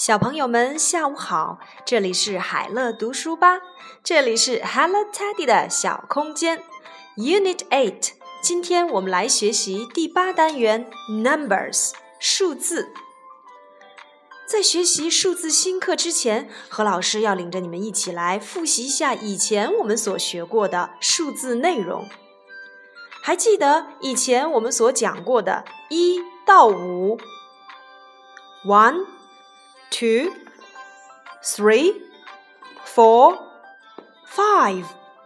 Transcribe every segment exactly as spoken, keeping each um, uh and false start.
小朋友们下午好，这里是海乐读书吧，这里是 Hello Teddy 的小空间 Unit eight， 今天我们来学习第八单元 Numbers 数字。在学习数字新课之前，何老师要领着你们一起来复习一下以前我们所学过的数字内容。还记得以前我们所讲过的一到五 One Two, three, four, five.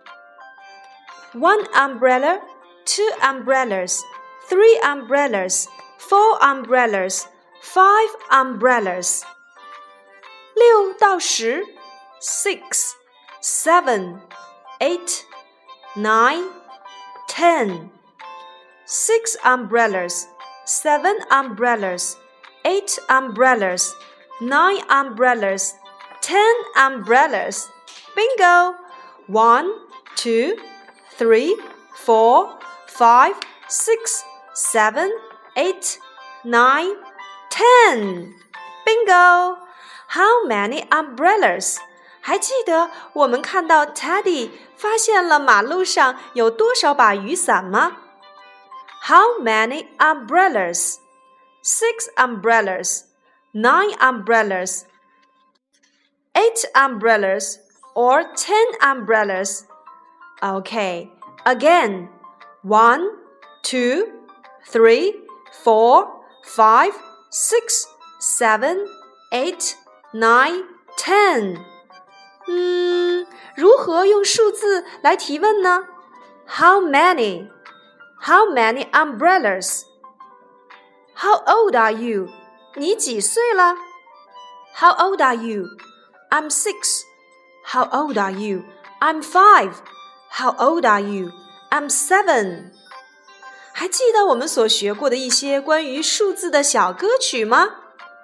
One umbrella, two umbrellas, three umbrellas, four umbrellas, five umbrellas. 六到十 Six, seven, eight, nine, ten. Six umbrellas, seven umbrellas, eight umbrellas.Nine umbrellas, ten umbrellas. Bingo! One, two, three, four, five, six, seven, eight, nine, ten. Bingo! How many umbrellas? 还记得我们看到 Teddy 发现了马路上有多少把雨伞吗？ How many umbrellas? Six umbrellas.Nine umbrellas, eight umbrellas, or ten umbrellas. Okay, again. One, two, three, four, five, six, seven, eight, nine, ten. 嗯，如何用数字来提问呢？ How many? How many umbrellas? How old are you?你几岁了 How old are you? I'm six. How old are you? I'm five. How old are you? I'm seven. 还记得我们所学过的一些关于数字的小歌曲吗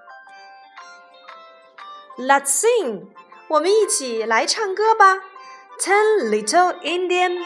Let's sing. 我们一起来唱歌吧 Ten little Indian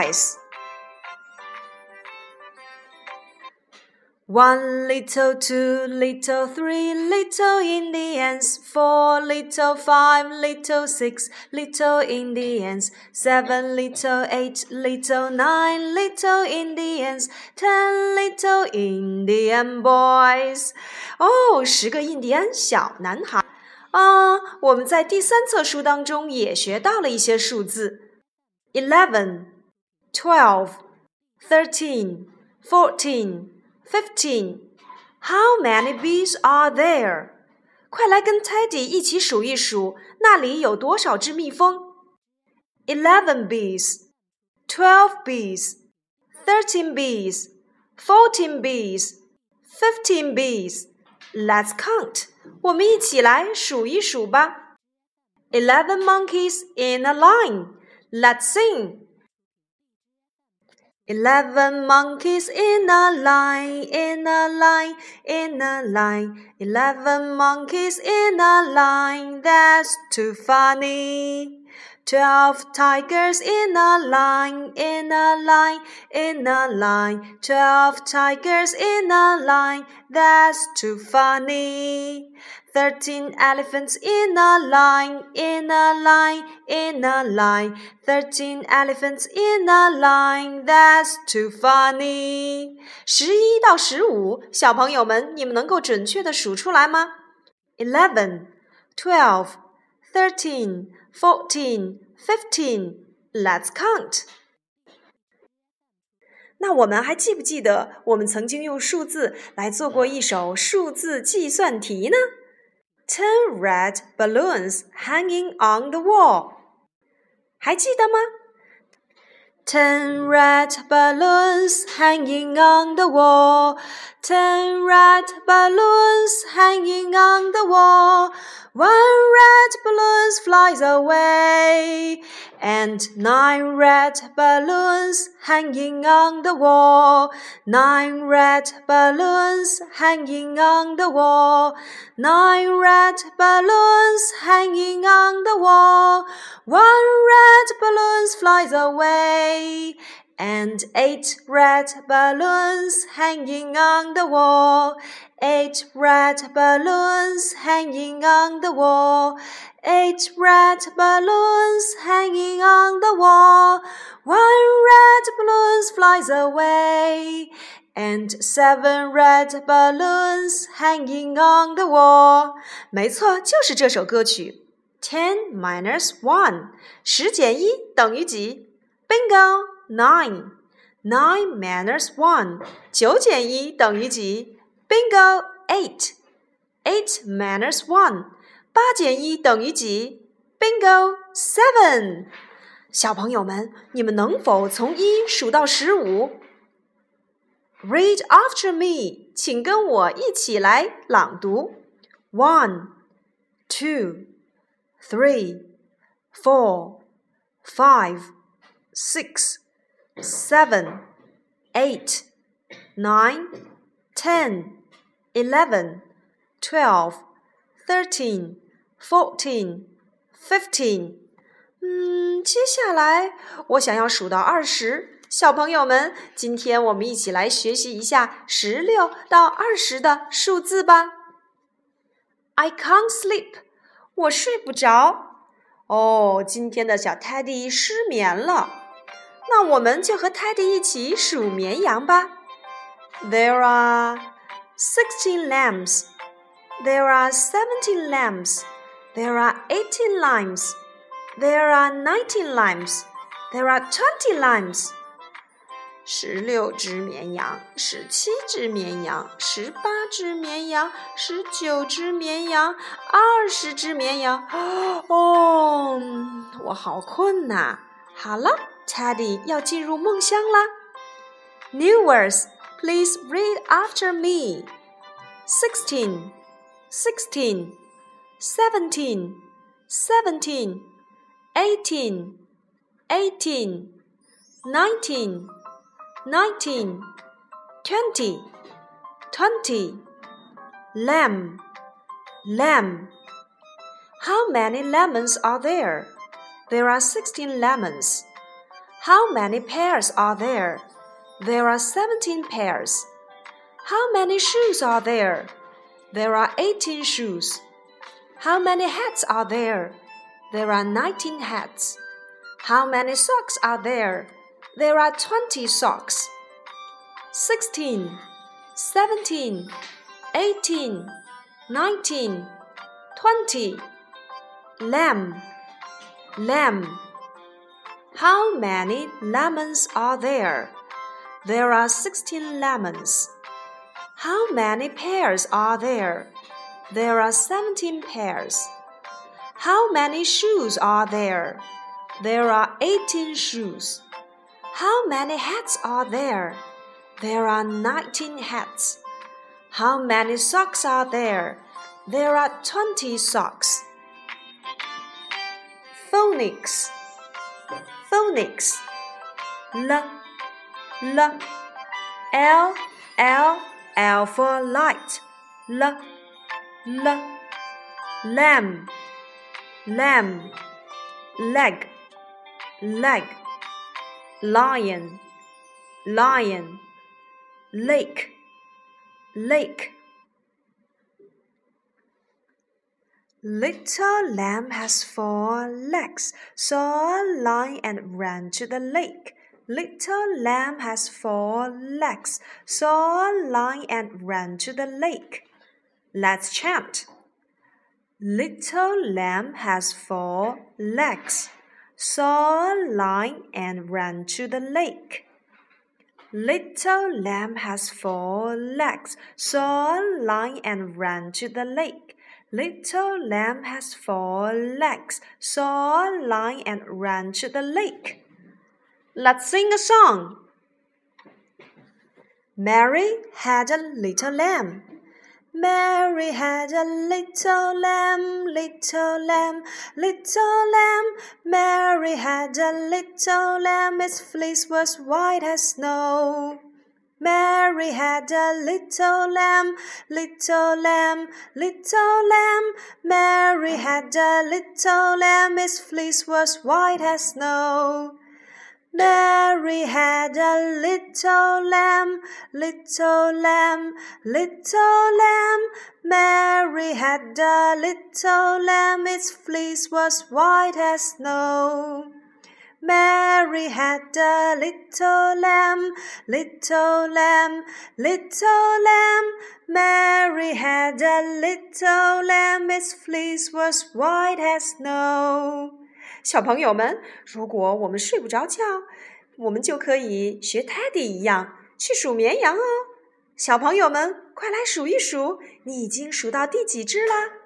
boys.One little, two little, three little Indians, four little, five little, six little Indians, seven little, eight little, nine little Indians, ten little Indian boys. 哦，十个印第安小男孩。啊、uh, 我们在第三册书当中也学到了一些数字 eleven, twelve, thirteen, fourteen.Fifteen. How many bees are there? 快来跟 Teddy 一起数一数，那里有多少只蜜蜂 ？Eleven bees, twelve bees, thirteen bees, fourteen bees, fifteen bees. Let's count. 我们一起来数一数吧。Eleven monkeys in a line. Let's sing.Eleven monkeys in a line, in a line, in a line. Eleven monkeys in a line, that's too funny. Twelve tigers in a line, in a line, in a line. Twelve tigers in a line, that's too funny.Thirteen elephants in a line, in a line, in a line. Thirteen elephants in a line, that's too funny. 十一到十五，小朋友们，你们能够准确地数出来吗 ？Eleven, twelve, thirteen, fourteen, fifteen. Let's count. 那我们还记不记得我们曾经用数字来做过一首数字计算题呢？Ten red balloons hanging on the wall. 还记得吗 Ten red balloons hanging on the wall. Ten red balloons hanging on the wall. One red balloon flies away. And nine red balloons hanging on the wall. Nine red balloons hanging on the wall. Nine red balloons hanging on the wall. One red balloon flies away. And eight red balloons hanging on the wall. Eight red balloons hanging on the wall. Eight red balloons hanging on the wall. One red balloon flies away. And seven red balloons hanging on the wall. 没错，就是这首歌曲。Ten minus one， 十减一等于几 ？Bingo， nine。Nine minus one， 九减一等于几 ？Bingo， eight。Eight minus one， 八减一等于几 ？Bingo， seven。小朋友们，你们能否从一数到十五 ？Read after me， 请跟我一起来朗读。One, two, three, four, five, six, seven, eight, nine, ten, eleven, twelve, thirteen, fourteen, fifteen。嗯，接下来我想要数到二十。小朋友们，今天我们一起来学习一下十六到二十的数字吧。I can't sleep， 我睡不着。哦，今天的小 Teddy 失眠了。那我们就和 Teddy 一起数绵羊吧。There are sixteen lambs. There are seventeen lambs. There are eighteen lambs. There are nineteen lambs. There are twenty lambs. 十六只绵羊，十七只绵羊，十八只绵羊，十九只绵羊，二十只绵羊。哦，我好困呐！好了 ，Teddy 要进入梦乡啦。New words, please read after me. Sixteen, sixteen, seventeen, seventeen, eighteen, eighteen, nineteen.Nineteen, twenty, twenty. Lamb, lamb. How many lemons are there? There are sixteen lemons. How many pears are there? There are seventeen pears. How many shoes are there? There are eighteen shoes. How many hats are there? There are nineteen hats. How many socks are there?There are twenty socks. Sixteen, seventeen, eighteen, nineteen, twenty. Lamb, lamb. How many lemons are there? There are sixteen lemons. How many pears are there? There are seventeen pears. How many shoes are there? There are eighteen shoes.How many hats are there? There are nineteen hats. How many socks are there? There are twenty socks. Phonics. Phonics. L, L, L, L, L for light. L, L. Lamb, lamb. Leg, leg.Lion, lion. Lake, lake. Little lamb has four legs, saw a lion and ran to the lake. Little lamb has four legs, saw a lion and ran to the lake. Let's chant. Little lamb has four legs.Saw a lion and ran to the lake. Little lamb has four legs. Saw a lion and ran to the lake. Little lamb has four legs. Saw a lion and ran to the lake. Let's sing a song. Mary had a little lamb.Mary had a little lamb, little lamb, little lamb. Mary had a little lamb, its fleece was white as snow. Mary had a little lamb, little lamb, little lamb. Mary had a little lamb, its fleece was white as snow. Mary had a little lamb, little lamb, little lamb. Mary had a little lamb, its fleece was white as snow. Mary had a little lamb, little lamb, little lamb. Mary had a little lamb, its fleece was white as snow. 小朋友们，如果我们睡不着觉，我们就可以学 Teddy 一样去数绵羊哦。小朋友们，快来数一数，你已经数到第几只了？